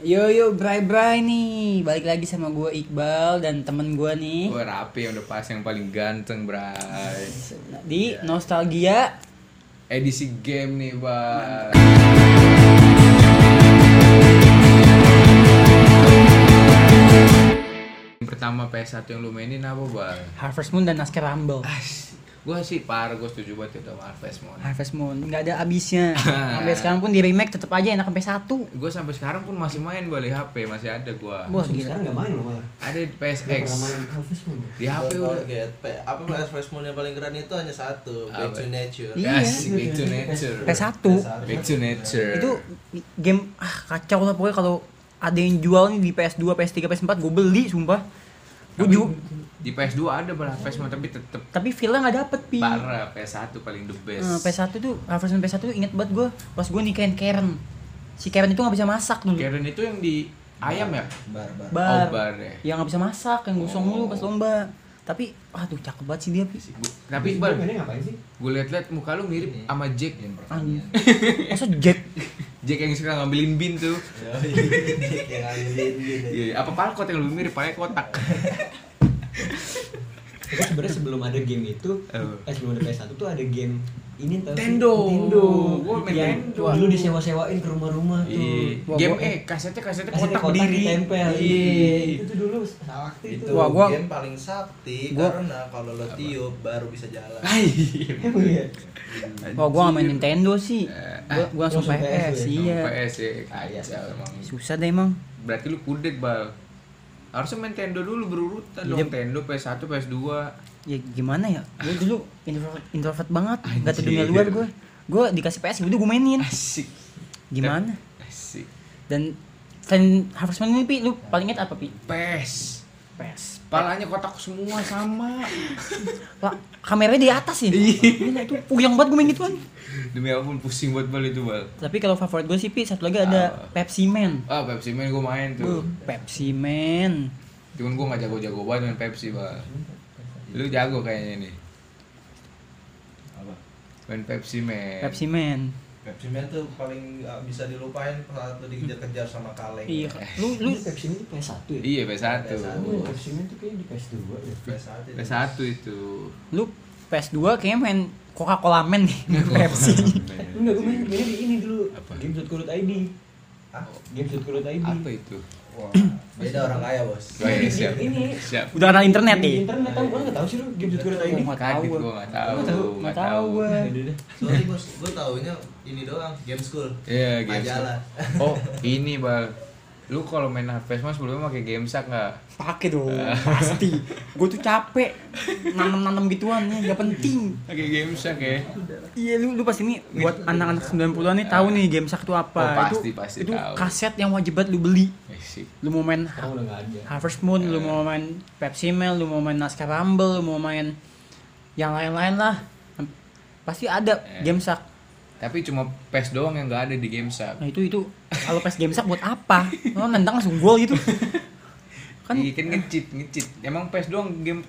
Yo bray nih, balik lagi sama gue Iqbal dan temen gue nih. Gue Rapi yang udah pas yang paling ganteng, Bray. Di Nostalgia Edisi game nih, Bang. Yang pertama PS1 yang lu mainin apa, Bang? Harvest Moon dan Naskah Rumble. Gue sih parah, gue setuju banget itu sama Harvest Moon. Harvest Moon nggak ada abisnya. Sampai sekarang pun di remake tetap aja enak sampai 1. Gue sampai sekarang pun masih main balik HP, masih ada gue. Wah, Sekarang gila. nggak main loh malah. Ada di Nggak PSX. pernah main Harvest Moon. Di HP udah. Apa Harvest Moon yang paling keren itu hanya satu, Back to Nature. Iya. Asik, Back to Nature. PS1. Back to Nature. Itu game kacau lah pokoknya. Kalau ada yang jual nih di PS2, PS3, PS4 gue beli sumpah. Gue Tapi juga. di PS2 ada malah Harvest Moon, tapi tetep Tapi feel-nya nggak dapet pi. parah. PS1 paling the best. PS1 tuh Harvest Moon PS1 tuh inget banget gue pas gue nikahin Karen. Si Karen itu nggak bisa masak dulu. Karen itu yang di ayam ya? Bar. Bar. Oh, bar ya. Yang nggak bisa masak, yang gosong mulu pas lomba. Tapi aduh cakep banget sih dia pi. Tapi Bar Bal, mainnya ngapain sih? gue liat-liat muka lu mirip sama Jack. Anjing. Masa Jack? Jack yang suka ngambilin bin tuh. Yang ambilin gitu. Iya, apa palkot yang lebih mirip, palanya kotak. Tapi sebenarnya sebelum ada game itu, sebelum ada PS1 tuh ada game ini tau sih? Nintendo. Nintendo. Gua main Yang Nintendo. dulu disewa-sewain ke rumah-rumah tuh. Iya. Wah, Game gua- kasetnya Kasih kotak kotak berdiri. ditempel. Iya. Itu tuh dulu sakti Itu tuh. Wah, gua- game paling sakti gua- karena kalau lo tiup baru bisa jalan. Emang iya. Oh gue nggak main Nintendo sih. Gue langsung langsung PS, PS, iya. PS ya, kacau emang. Susah deh emang. Berarti lu kudet, Bal. Harusnya main Nintendo dulu berurutan Iya. dong. Nintendo, PS1, PS2. Ya gimana ya? Gue dulu introvert banget. Gak Anjir. tahu dunia luar gue. Gue dikasih PS udah gue mainin. Asik. Gimana? Asik. Dan selain Harvest Moon ini pi, lu paling inget apa pi? PS. PS. Palanya kotak semua sama. Lah, kameranya di atas ya? Gila itu puyeng banget gue main gituan. Demi apapun pusing buat Bal itu, Bal. Tapi kalau favorit gue sih pi, satu lagi ada Pepsi Man. Ah, Pepsi Man gue main tuh. Pepsi Man. Cuman gue gak jago-jago banget main Pepsi, Bal. Lu jago kayaknya nih. Apa? Main Pepsi Man. Pepsi Man. Pepsi Man tuh paling gak bisa dilupain saat lo dikejar-kejar sama kaleng. Iya. Lu Pepsi Man itu PS1 ya? Iya, PS1. Oh, Pepsi Man tuh kayaknya di PS2 ya. PS1 itu. PS1 itu. lu PS2 kayaknya main Coca-Cola Man nih. Pepsi. Enggak, gue mainnya di ini dulu. Apa? Games.co.id. Hah? Games.co.id. Apa itu? Wah, beda orang kaya, Bos. Oh, iya, siap. Ini Siap. Udah kenal internet di nih. internet tahu, enggak tahu sih lu Games.co.id. Nggak tahu Kaget gua. gue gak tahu. Nggak tahu gue. Sorry, Bos. Gue taunya ini doang, Game School. Iya, Games. Majalah. Oh, ini, Bal. Lu kalau main Harvest Moon sebelumnya pakai Gamesak enggak? Pakai dong, pasti. Gue tuh capek nanam gituan ya, gak penting. Pakai Gamesak ya. Iya lu pas ini buat anak-anak 90-an nih tahu nih game sak itu apa. Oh, pasti, pasti itu tahu. kaset yang wajib banget lu beli. Sih. Lu mau main Sekarang udah enggak ada. Harvest Moon, lu mau main Pepsi Man, lu mau main Naskah Rumble, lu mau main yang lain-lain lah. Pasti ada game sak. Tapi cuma PES doang yang enggak ada di Gamesak. Nah itu kalau pas game sak buat apa? Lo nendang langsung gol gitu. Kan Kan iya, kan ngecit. Emang PES doang game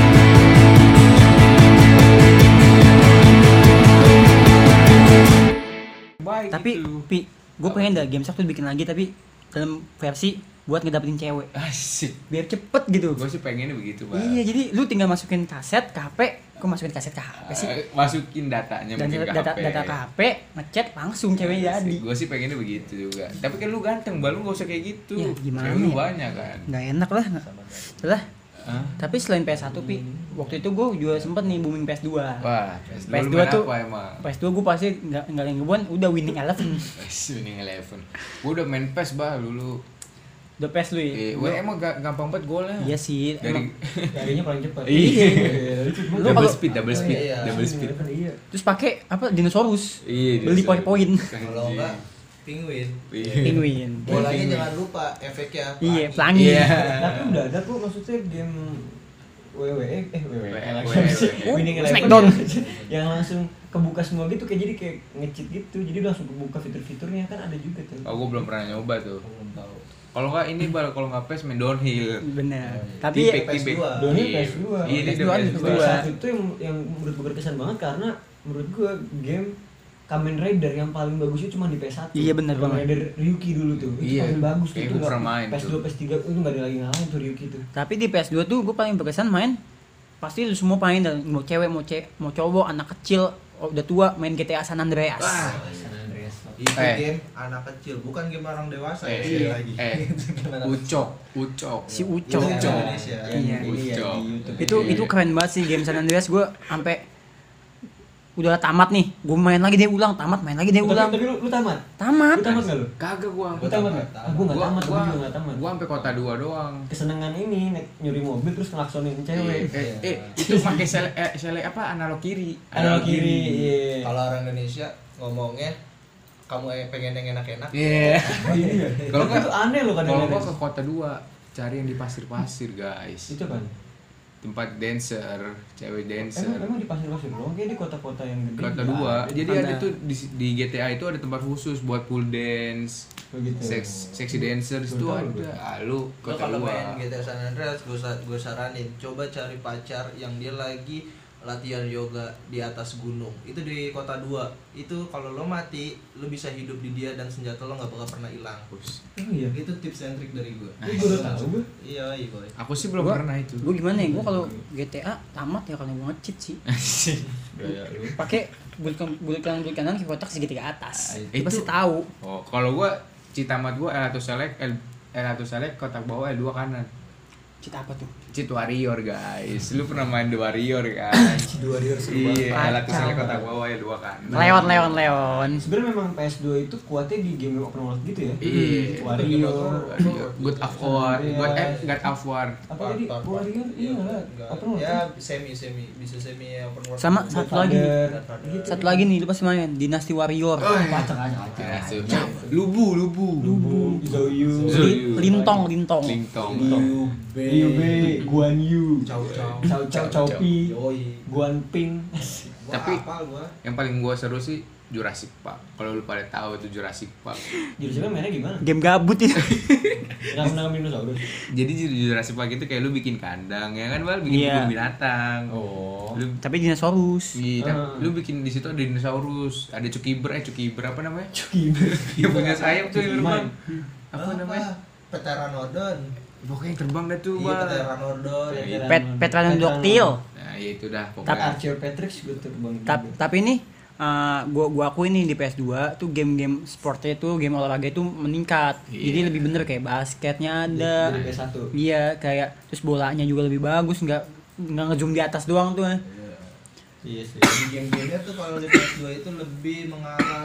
baik tapi gitu. pi gue pengen dah game sak tuh bikin lagi tapi dalam versi buat ngedapetin cewek Asik. biar cepet gitu. Gue sih pengennya begitu, Bang. Iya jadi lu tinggal masukin kaset ke HP. Kok masukin kaset ke HP sih? Masukin datanya Dan mungkin ke data HP. ke HP, ngechat langsung cewek jadi. Gue sih pengennya begitu juga. Tapi kan lu ganteng, Bal, lu gak usah kayak gitu. Ya, gimana Cewek lu ya? banyak kan. Nggak enak lah. Lah. Hah? Tapi selain PS1 pi, waktu itu gue juga sempet nih booming PS2. Wah, PS2 PS2 lu main tuh- apa emang? PS2 gue pasti nggak yang ngebuan udah Winning Eleven. Winning Eleven. Gue udah main PES, Bal, dulu. Udah PS lu ya. Emang gampang banget golnya. Iya sih. Dari Emang. Larinya paling cepat. Iya. Lu double kalau- speed, double speed, iya. double speed. Iya. Terus pakai apa dinosaurus. Iya, Beli dia poin-poin. Kalau enggak, penguin. Iya. Penguin. Bolanya Penguin. jangan lupa efeknya. Iya, pelangi. pelangi. Iya. Tapi udah ada kok maksudnya game WWE WWE. Winning Eleven Smackdown. yang langsung kebuka semua gitu kayak jadi kayak nge-cheat gitu. Jadi langsung kebuka fitur-fiturnya kan ada juga tuh. Oh, gue belum pernah nyoba tuh. Belum tahu. Kalau nggak ini, Bal, kalau nggak PES main downhill. Bener. Tipik, Tapi tipik. PS2. Downhill Iya. PS2. Iya, dia PS2. PS2. PS2. Saat itu yang menurut gue berkesan banget karena menurut gue game Kamen Rider yang paling bagus itu cuma di PS1. Iya, bener Kamen banget. Rider Ryuki dulu tuh. Itu Iya. paling bagus tuh. Kayak Itu gua nggak- pernah main PS2, tuh. PS3 itu enggak ada lagi ngalahin tuh Ryuki tuh. Tapi di PS2 tuh gue paling berkesan main pasti lu semua main, dan mau cewek mau cowok, anak kecil udah tua main GTA San Andreas. Wah. San Andreas. Itu Eh. game anak kecil, bukan game orang dewasa ya, Eh, sekali lagi. Game anak Ucok. Si kecil. Ucok. Itu Ucok. Indonesia. Iya. Ini ya Ucok. di YouTube. Itu keren banget sih game San Andreas. Gue sampai udah tamat nih, gue main lagi dia ulang, tamat main lagi dia ulang. Tapi lu tamat? Tamat. Lu tamat enggak lu? Kagak gua. Lu tamat enggak? Gua enggak tamat, gua juga enggak tamat. Gua sampai kota 2 doang. Kesenangan ini nyuri mobil terus ngelaksonin cewek. Itu pakai sele apa analog kiri. Analog kiri. Iya. Kalau orang Indonesia ngomongnya kamu pengen yang enak-enak. Iya. Iya. Kalau Tapi itu aneh loh Kalau kadang-kadang. gua ke kota 2 cari yang di pasir-pasir, guys. Itu kan. Tempat dancer, cewek dancer. Emang di pasir-pasir doang kayak di kota-kota yang gede. Kota juga 2. Jadi Ada. ada tuh di GTA itu ada tempat khusus buat pool dance, Begitu. seksi dancer itu Betul, ada. betul. Lu Lo kota kalau 2. main GTA San Andreas, gue saranin coba cari pacar yang dia lagi latihan yoga di atas gunung. Itu di kota 2. Itu kalau lo mati, lo bisa hidup di dia dan senjata lo nggak bakal pernah hilang. Oh iya. Itu tips and trick dari gue. Gue baru tahu gue. Iya, iya boy. Aku sih belum Gua- pernah itu. Gue gimana ya? Gue kalau GTA tamat ya karena gue nge-cheat sih. Pakai bulut kanan ke kotak segitiga atas. Itu- Itu pasti tahu. Oh, kalau gua citamat gua L1 select, L1 select kotak bawah L2 kanan. Cheat apa tuh? Cheat Warrior, guys. Lu pernah main The Warrior kan? Di Warrior seru Iya, banget. L1 select kotak bawah L2 kanan. Leon. Sebenarnya memang PS2 itu kuatnya di game open world gitu ya. Iya. Warrior. God of War, God of War. Apa tadi? Warrior? Iya lah. Open world. Ya kan? semi bisa semi open world. Sama satu lagi. Godfather. Gitu. Satu lagi nih, lu pasti main Dynasty Warrior. Pacak aja. Ya, Lubu. Lubu, Zoyu, Lintong. Lintong. Liu Bei, Guan Yu, Cao Cao Pi, Yoi. Guan Ping. Gua Tapi- hafal gua. Yang paling gua seru sih Jurassic Park. Kalau lu pada tahu itu Jurassic Park. Jadi sebenarnya mainnya gimana? Game gabut itu. Nangkep dinosaurus. Jadi Jurassic Park itu kayak lu bikin kandang ya kan, Bal? Bikin Iya. kebun binatang. Oh. Lu Tapi dinosaurus. Iya, Ah. lu bikin di situ ada dinosaurus, ada cukiber apa namanya? Cuki. Yang punya sayap tuh yang terbang. Apa Apa namanya? Pteranodon. Pokoknya yang terbang dah tuh, Iya, Bal. Pteranodon. Petranodoctyl. Nah, ya itu dah Tapi pokoknya. Archaeopteryx gue terbang. Tapi nih gua akui nih di PS2 tuh game-game sportnya tuh game olahraga itu meningkat. Iya. Jadi lebih bener kayak basketnya ada. Dari PS1. Iya, kayak terus bolanya juga lebih bagus, nggak ngezoom di atas doang tuh. Iya sih. Di game-gamenya tuh kalau di PS2 itu lebih mengarah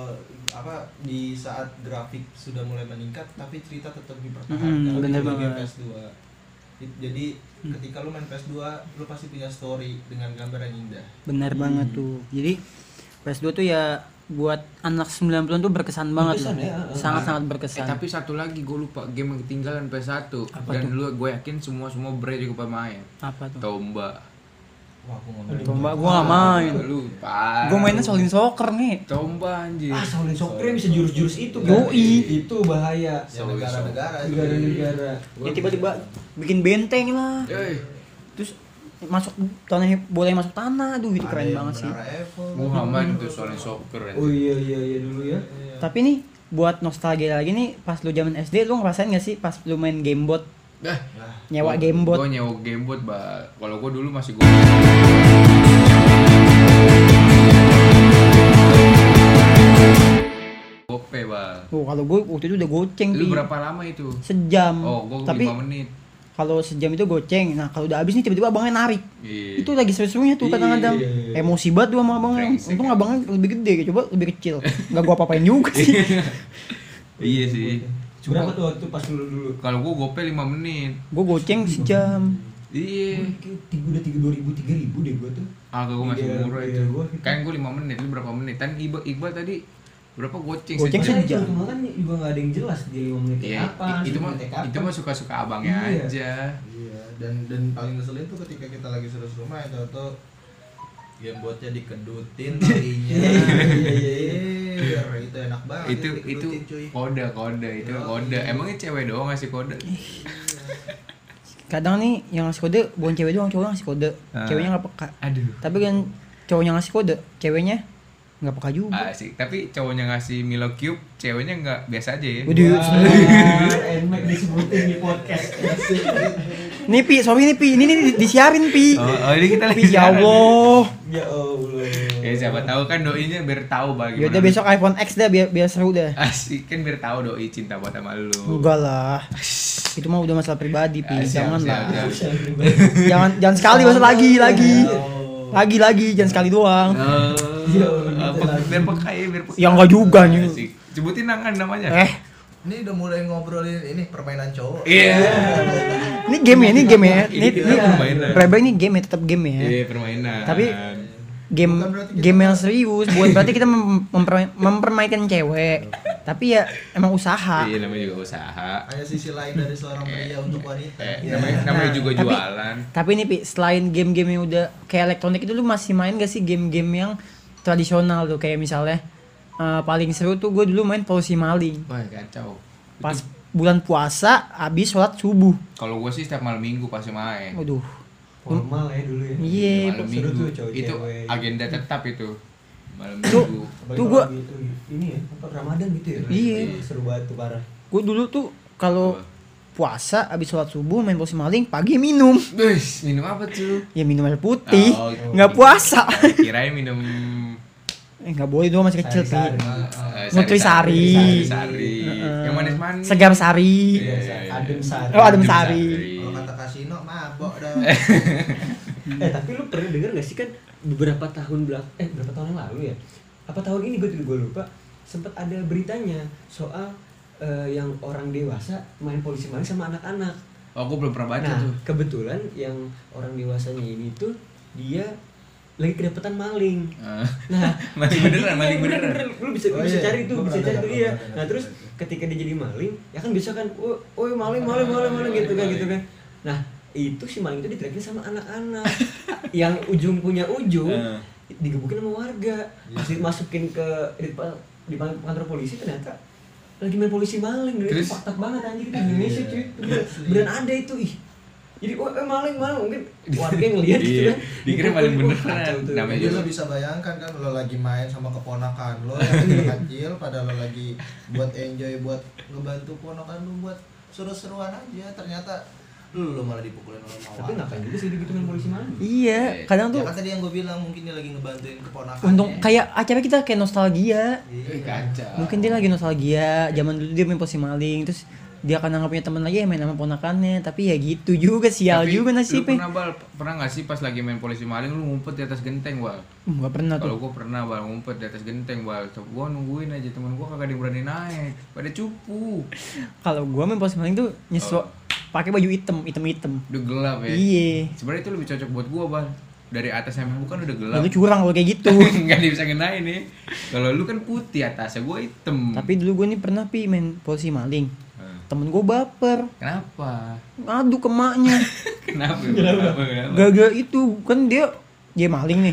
di saat grafik sudah mulai meningkat tapi cerita tetap dipertahankan. Bener Itu di game banget. PS2. Jadi ketika lu main PS2 lu pasti punya story dengan gambar yang indah. Bener banget tuh. Jadi PS2 tuh ya buat anak 90-an tuh berkesan banget. Berkesan loh. ya, Sangat-sangat berkesan. Tapi satu lagi gue lupa game yang ketinggalan PS1. Apa Dan tuh? lu gue yakin semua bre juga pada main. Apa tuh? Tomba. Wah, aku ngomong. Tomba gua nggak main. Lu parah. Gua mainnya Shaolin Soccer nih. Tomba anjir. Ah, Shaolin Soccer bisa jurus-jurus itu kan. Yoi. Itu bahaya. Ya negara-negara itu. Negara-negara. Ya tiba-tiba bikin benteng lah. Eh, Terus masuk tanah, boleh masuk tanah. Aduh, itu Ada keren yang banget sih. menara Eiffel. gua nggak main tuh soalnya soccer anjir. Oh iya dulu ya. Tapi nih buat nostalgia lagi nih, pas lu zaman SD lu ngerasain gak sih pas lu main gamebot? Dah. Nyewa gamebot. Gue nyewa gamebot, Bal. Kalau gue dulu masih gue. Gope, Bal. Kalau gue waktu itu udah goceng Lu Pi. berapa lama itu? Sejam. Oh, gue Tapi 5 menit. kalau sejam itu goceng. Nah, kalau udah habis nih tiba-tiba abangnya narik. Iya. Itu lagi seru-serunya tuh kadang-kadang. Iya. Emosi banget tuh sama abangnya. Brengsek, Untung ya. abangnya lebih gede, coba lebih kecil. Gak gua apa-apain juga sih. Iya sih. Berapa tuh waktu pas dulu? Kalau gue gope 5 menit. Gue goceng sejam. Iya. Udah 3.000 deh gua tuh. Agak gue masih Iya, murah iya, itu. gua- Kan gue 5 menit, lu berapa menit? Kan Iqbal tadi berapa goceng? Goceng sejam? sejam. Cuma kan juga nggak ada yang jelas di 5 menit Iya, kapan. itu mah 10 menit kapan. itu mah suka-suka abangnya Iya. aja. Iya, dan paling ngeselin tuh ketika kita lagi seru-seru main atau gamebotnya dikedutin talinya. Iya, itu enak banget. Itu dikedutin, cuy. kode itu Iya. kode. Emangnya cewek doang ngasih kode? Kadang nih yang ngasih kode bukan cewek doang, cowok yang ngasih kode. Ah. Ceweknya gak peka. Aduh. Tapi kan cowoknya ngasih kode, ceweknya Nggak peka juga. Asik. Tapi cowoknya ngasih Milo Cube, ceweknya nggak biasa aja ya. Waduh. Enak disebutin di podcast. Nih Pi, sorry nih Pi, ini nih disiarin Pi. Oh, ini kita lagi Pi, ya siaran. Allah. Ya Allah. Ya siapa tahu kan doinya biar tahu bagaimana. Yaudah besok iPhone X dah biar seru dah. Asik kan biar tahu doi cinta buat sama lu. Enggak lah. Itu mah udah masalah pribadi Pi, Siap, jangan siap, lah. siap. Jangan sekali masa lagi. Lagi jangan sekali doang. Biar peka ya, biar peka. Ya enggak juga nih. Asik. Sebutin namanya. Ini udah mulai ngobrolin ini permainan cowok. Iya. Ini game ya. Ini permainan. Rebel ini game ya, tetap game ya. Iya, permainan. Tapi game Bukan berarti kita game yang serius, bukan berarti kita mempermainkan cewek. Tapi ya emang usaha. Iya, namanya juga usaha. Hanya sisi lain dari seorang pria untuk wanita. Ya. Namanya juga Tapi- jualan. Tapi nih Pi, selain game-game yang udah kayak elektronik itu lu masih main gak sih game-game yang tradisional tuh kayak misalnya paling seru tuh gue dulu main Polisi Maling. Wah, kacau. Pas bulan puasa habis sholat subuh. Kalau gue sih setiap malam minggu pasti main. Waduh. Formal ya dulu ya. Iya, malam seru minggu. tuh cowok Itu cewek. agenda tetap itu. Malam Tuh. minggu. Apalagi Tuh kalau gua- lagi itu ini ya, apa Ramadan gitu ya. Iya. Seru banget tuh parah. Gue dulu tuh kalau Apa? puasa habis sholat subuh main Polisi Maling, pagi minum. Wih, minum apa tuh? Ya minum air putih. Oh, Nggak puasa. Kirain minum Nggak boleh dong masih kecil Pi. Sari-sari. Nutrisari. Sari. Heeh. Yang manis-manis. Segar sari. Iya, adem sari. Oh, adem sari. Kalau kata kasino mabok dah. Tapi lu pernah denger gak sih kan beberapa tahun berapa tahun yang lalu ya? Apa tahun ini gue lupa, sempat ada beritanya soal yang orang dewasa main polisi maling sama anak-anak. Oh, gue belum pernah baca Nah, tuh. kebetulan yang orang dewasanya ini tuh dia lagi kedapetan maling. Nah, Maling beneran, maling Iya, beneran. Lu bisa Oh, bisa iya. cari tuh, Gua bisa pernah cari dengar, tuh iya. pernah dengar. Nah, terus ketika dia jadi maling, ya kan biasa kan, oh maling gitu kan. Nah, itu si maling itu diterakin sama anak-anak. Yang ujung punya ujung digebukin sama warga. Pas dimasukin ke di kantor polisi ternyata lagi main polisi maling. Dan itu Terus? fakta banget anjir di Indonesia cuy. Beneran ada itu ih. Jadi maling mungkin warga yang ngeliat gitu Iya, kan. dikira maling Dipukulin, beneran. kacau tuh. Namanya Jadi juga. lo bisa bayangkan kan lo lagi main sama keponakan lo yang kecil pada lo lagi buat enjoy buat ngebantu ponakan lo buat seru-seruan aja ternyata lo malah dipukulin sama Tapi ngapain juga sih gitu main polisi maling? Iya, kadang Ya tuh kan tadi yang gue bilang mungkin dia lagi ngebantuin keponakan. untung kayak acara kita kayak nostalgia. Eh, kacau. Mungkin dia lagi nostalgia, zaman dulu dia main Polisi Maling, terus dia kan nggak punya teman lagi ya main sama ponakannya, tapi ya gitu juga sial Tapi juga lu nasibnya. pernah nggak sih pas lagi main polisi maling lu ngumpet di atas genteng, Bal? Nggak pernah Kalau tuh. gua pernah, Bal, ngumpet di atas genteng, Bal. Gua nungguin aja temen gua kagak ada yang berani naik. Pada cupu. Kalau gua main Polisi Maling tuh pakai baju hitam. Udah gelap ya. Iya. Sebenarnya itu lebih cocok buat gua, Bal. Dari atas sampai bukan udah gelap. Lalu curang kalau kayak gitu. Nggak bisa ngenain nih. Kalau lu kan putih atasnya, gua hitam. Tapi dulu gua nih pernah main Polisi Maling. Temen gua baper, Kenapa? ngadu ke emaknya. Kenapa? Gara-gara itu kan dia maling nih.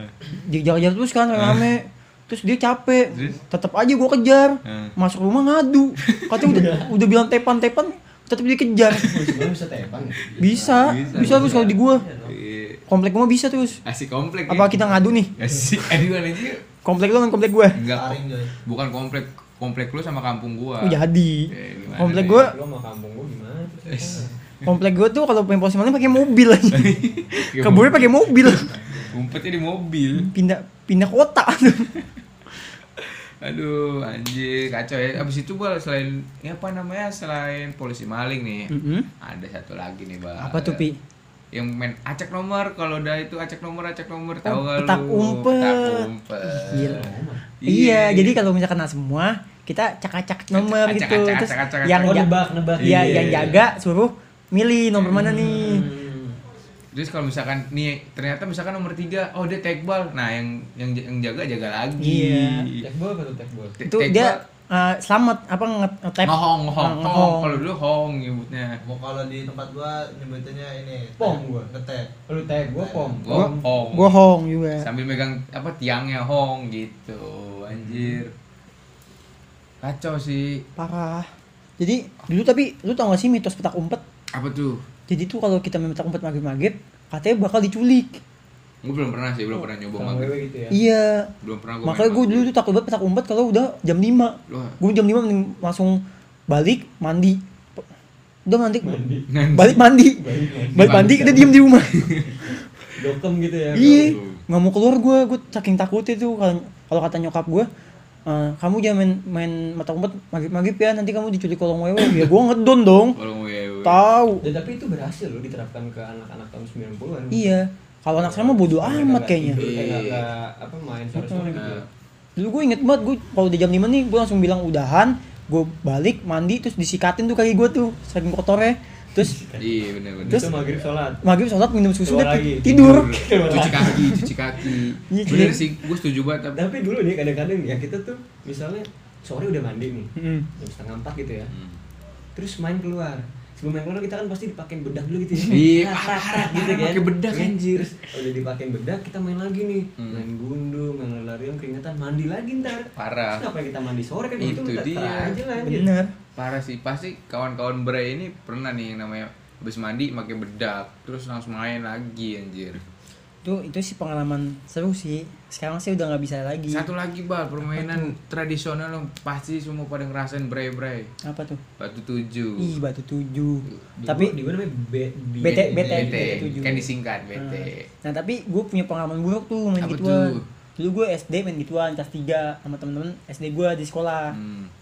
Dia jalan-jalan terus kan rame-rame. Terus dia capek. Terus? Tetap aja gua kejar. Masuk rumah ngadu. Katanya udah bilang tepan-tepan, tetap dia kejar. Polisi maling bisa tepan ya? Bisa terus kalau di gua. Iya. Komplek gua bisa terus. Asik komplek. Apa kita ngadu nih? Asik. Aduh, aja. Komplek lu kan komplek gua. Enggak. Taring, Joy. Bukan komplek lu sama kampung gua. Oh, jadi. Gimana Komplek nih? gua, Lu sama kampung gua gimana tuh? komplek gua tuh kalau main Polisi Maling pakai mobil aja. Keburnya pakai mobil. Ngumpetnya di mobil. Pindah kota. Aduh, anjir, kacau ya. Abis itu, Bal, selain selain polisi maling nih, ada satu lagi nih, Bal. Apa tuh, Pi? Yang main acak nomor. Kalau udah itu acak nomor, tahu gak lu? petak umpet. Petak umpet. Gila. Iya, jadi kalau misalkan kena semua, kita acak-acak nomor gitu. Acak-acak, Terus acak-acak, yang Oh, nebak. Iya, Iya. yang jaga suruh milih nomor mana nih. Terus kalau misalkan nih ternyata misalkan nomor 3, oh dia tag ball. Nah, yang jaga lagi. Iya. Tekbol apa tuh tekbol? Itu dia selamat apa nge-tap. Ngehong. Ngehong. Kalau dulu hong nyebutnya. Mau kalau di tempat gua nyebutinnya ini Pom gua. ngetep. Lu tag gua pom. Gua hong. Gua hong juga. Sambil megang tiangnya hong gitu. Anjir. Kacau sih. Parah. Jadi dulu tapi lu tau gak sih mitos petak umpet? Apa tuh? Jadi tuh kalau kita main petak umpet maghrib-maghrib, katanya bakal diculik. Gue belum pernah sih, belum pernah nyoba Sama maghrib. wewe gitu ya. Iya. Belum pernah gue. Makanya gue dulu tuh takut banget petak umpet kalau udah jam 5. Loh. Gue jam 5 mending langsung balik mandi. Udah mandi. Mandi. Balik mandi. Balik mandi kita diem di rumah. Dokem gitu ya. Iya. Nggak mau keluar gue saking takutnya tuh kalau kata nyokap gue, kamu jangan main mata umpet maghrib ya, nanti kamu diculik kolong wewe. Ya gue ngedon dong. Kalau wewe. Tahu. Dan tapi itu berhasil loh diterapkan ke anak-anak tahun 90-an. Iya. Kalau anak saya mah bodo amat kayaknya. Enggak apa main sore-sore gitu. Ya. Dulu gue inget banget, gue kalau udah jam 5 nih gue langsung bilang udahan, gue balik mandi terus disikatin tuh kaki gue tuh saking kotornya. Terus Iya benar-benar. Terus maghrib sholat. maghrib sholat minum susu Keluar udah lagi. tidur. Cuci kaki. Iya, Bener cuci. sih, gue setuju banget. Tapi dulu nih kadang-kadang ya kita tuh misalnya sore udah mandi nih. Mm. Jam 3:30 gitu ya. Hmm. Terus main keluar. Sebelum main keluar kita kan pasti dipakein bedak dulu gitu ya. Iya, Rak, gitu kan. pakai bedak, Iya. anjir. Terus udah dipakein bedak kita main lagi nih. Hmm. Main gundu, main lari-larian keringetan, mandi lagi ntar. Parah. Terus ngapain kita mandi sore kan Itu ntar dia. aja lah anjir. Bener. Parah sih, pasti kawan-kawan Bray ini pernah nih yang namanya habis mandi pakai bedak, terus langsung main lagi anjir. Itu sih pengalaman seru sih. Sekarang sih udah nggak bisa lagi. Satu lagi Bal, permainan tradisional yang pasti semua pada ngerasain Bray. Apa tuh? Batu 7. Ih, batu 7. Di Tapi gua namanya BT. BT, tujuh. kan disingkat BT. Nah, tapi gue punya pengalaman buruk tuh main Apa gituan. tuh? Dulu gue SD main gituan kelas 3 sama temen-temen SD gue di sekolah.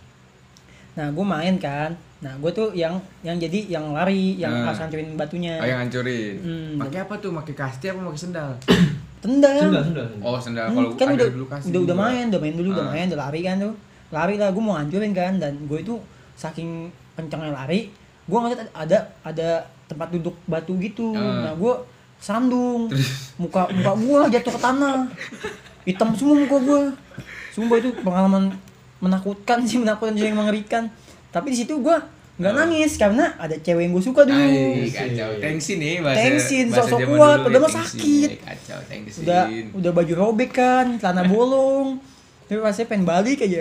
Nah, gue main kan. Nah, gue tuh yang jadi yang lari, yang Nah. harus hancurin batunya. Oh yang hancurin. Hmm. Pakai apa tuh? Pakai kasti apa pakai sendal? Tendang. Sendal. Oh sendal. Kalau Kan ada udah dulu kasti. udah juga. main dulu, udah Ah. main, udah lari kan tuh. Lari lah, gue mau hancurin kan, dan gue itu saking kencangnya lari, gue ngeliat ada tempat duduk batu gitu. Ah. Nah, gue sandung, muka gue jatuh ke tanah, hitam semua muka gue. Sumpah itu pengalaman menakutkan sih yang mengerikan. Tapi di situ gue nggak nangis karena ada cewek yang gue suka dulu. Ay, kacau. Tensin nih bahasa. Tensin, bahasa sosok zaman kuat, dulu padahal ya, mah tensin. sakit. Kacau, tensin. Udah baju robek kan, celana bolong. Tapi rasanya pengen balik aja.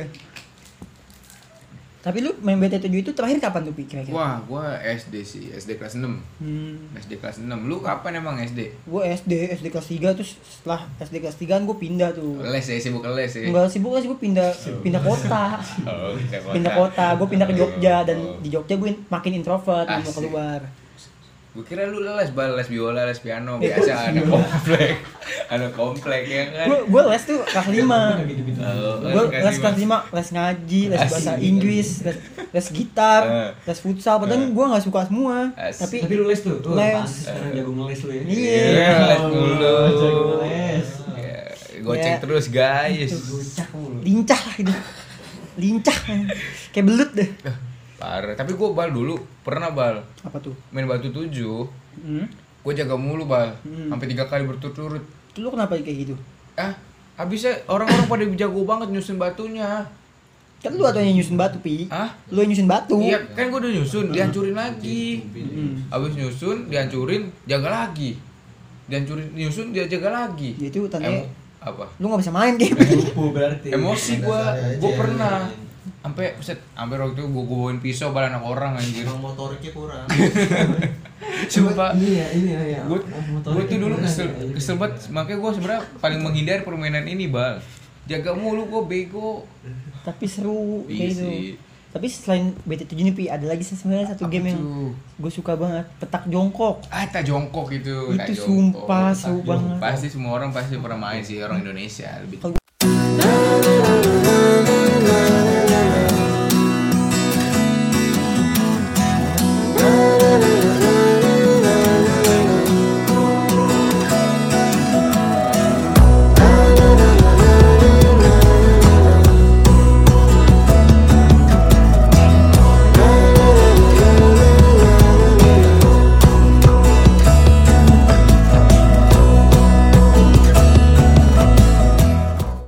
Tapi lu main BT7 itu terakhir kapan tuh Pi kira-kira? Wah, gua SD sih, SD kelas 6. SD kelas 6. Lu kapan emang SD? Gue SD kelas 3, terus setelah SD kelas 3 kan gue pindah tuh. Les ya, sibuk les ya. Enggak sibuk lah sih, gue pindah kota. Oh, Pindah kota, gue pindah ke Jogja, dan Oh. di Jogja gue makin introvert, nggak mau Asik. keluar. Gue kira lu les les biola, les piano, biasa anak komplek. Anak komplek ya kan. Gue les tuh kelas 5. Oh, Gue les kelas 5, les ngaji, les bahasa Inggris, les gitar, les futsal, padahal gue nggak suka semua. Asik. Tapi lu les tuh. Oh, Les. pantes sekarang jago ngeles lu ya. Iya. Les mulu. Jago ngeles. Ya, goceng Ya. terus guys. Gocak mulu. Lincah lah gitu. Lincah. Kayak belut deh. Parah. Tapi gue Bal dulu pernah Bal Apa tuh? main batu 7. Hmm? Gue jaga mulu Bal. Hmm. Sampai 3 kali berturut-turut. Itu lu kenapa kayak gitu? Habisnya orang-orang pada jago banget nyusun batunya. Kan lu atau yang nyusun batu, Pi? Hah? Lu yang nyusun batu. Iya, kan gue udah nyusun, dihancurin lagi. Hmm. Habis nyusun, dihancurin, jaga lagi. Dihancurin, nyusun, dia jaga lagi. Ya itu tandanya Apa? lu gak bisa main kayak Lupu berarti. Emosi gue pernah. Sampai waktu itu gue bawain pisau bal anak orang anjir. Emang motoriknya kurang. Sumpah. Ini ya. Gue tuh dulu kesel banget, makanya gue sebenarnya paling menghindari permainan ini bal. Jaga mulu gue bego. tapi seru Iya kayak gitu. sih. Tapi selain BT7 nih, Pi, ada lagi sebenarnya satu Apa game yang tuh? gue suka banget, petak jongkok. Tak jongkok itu. Itu tak jongkok. sumpah seru banget. Pasti semua orang pasti pernah main sih, orang Indonesia lebih.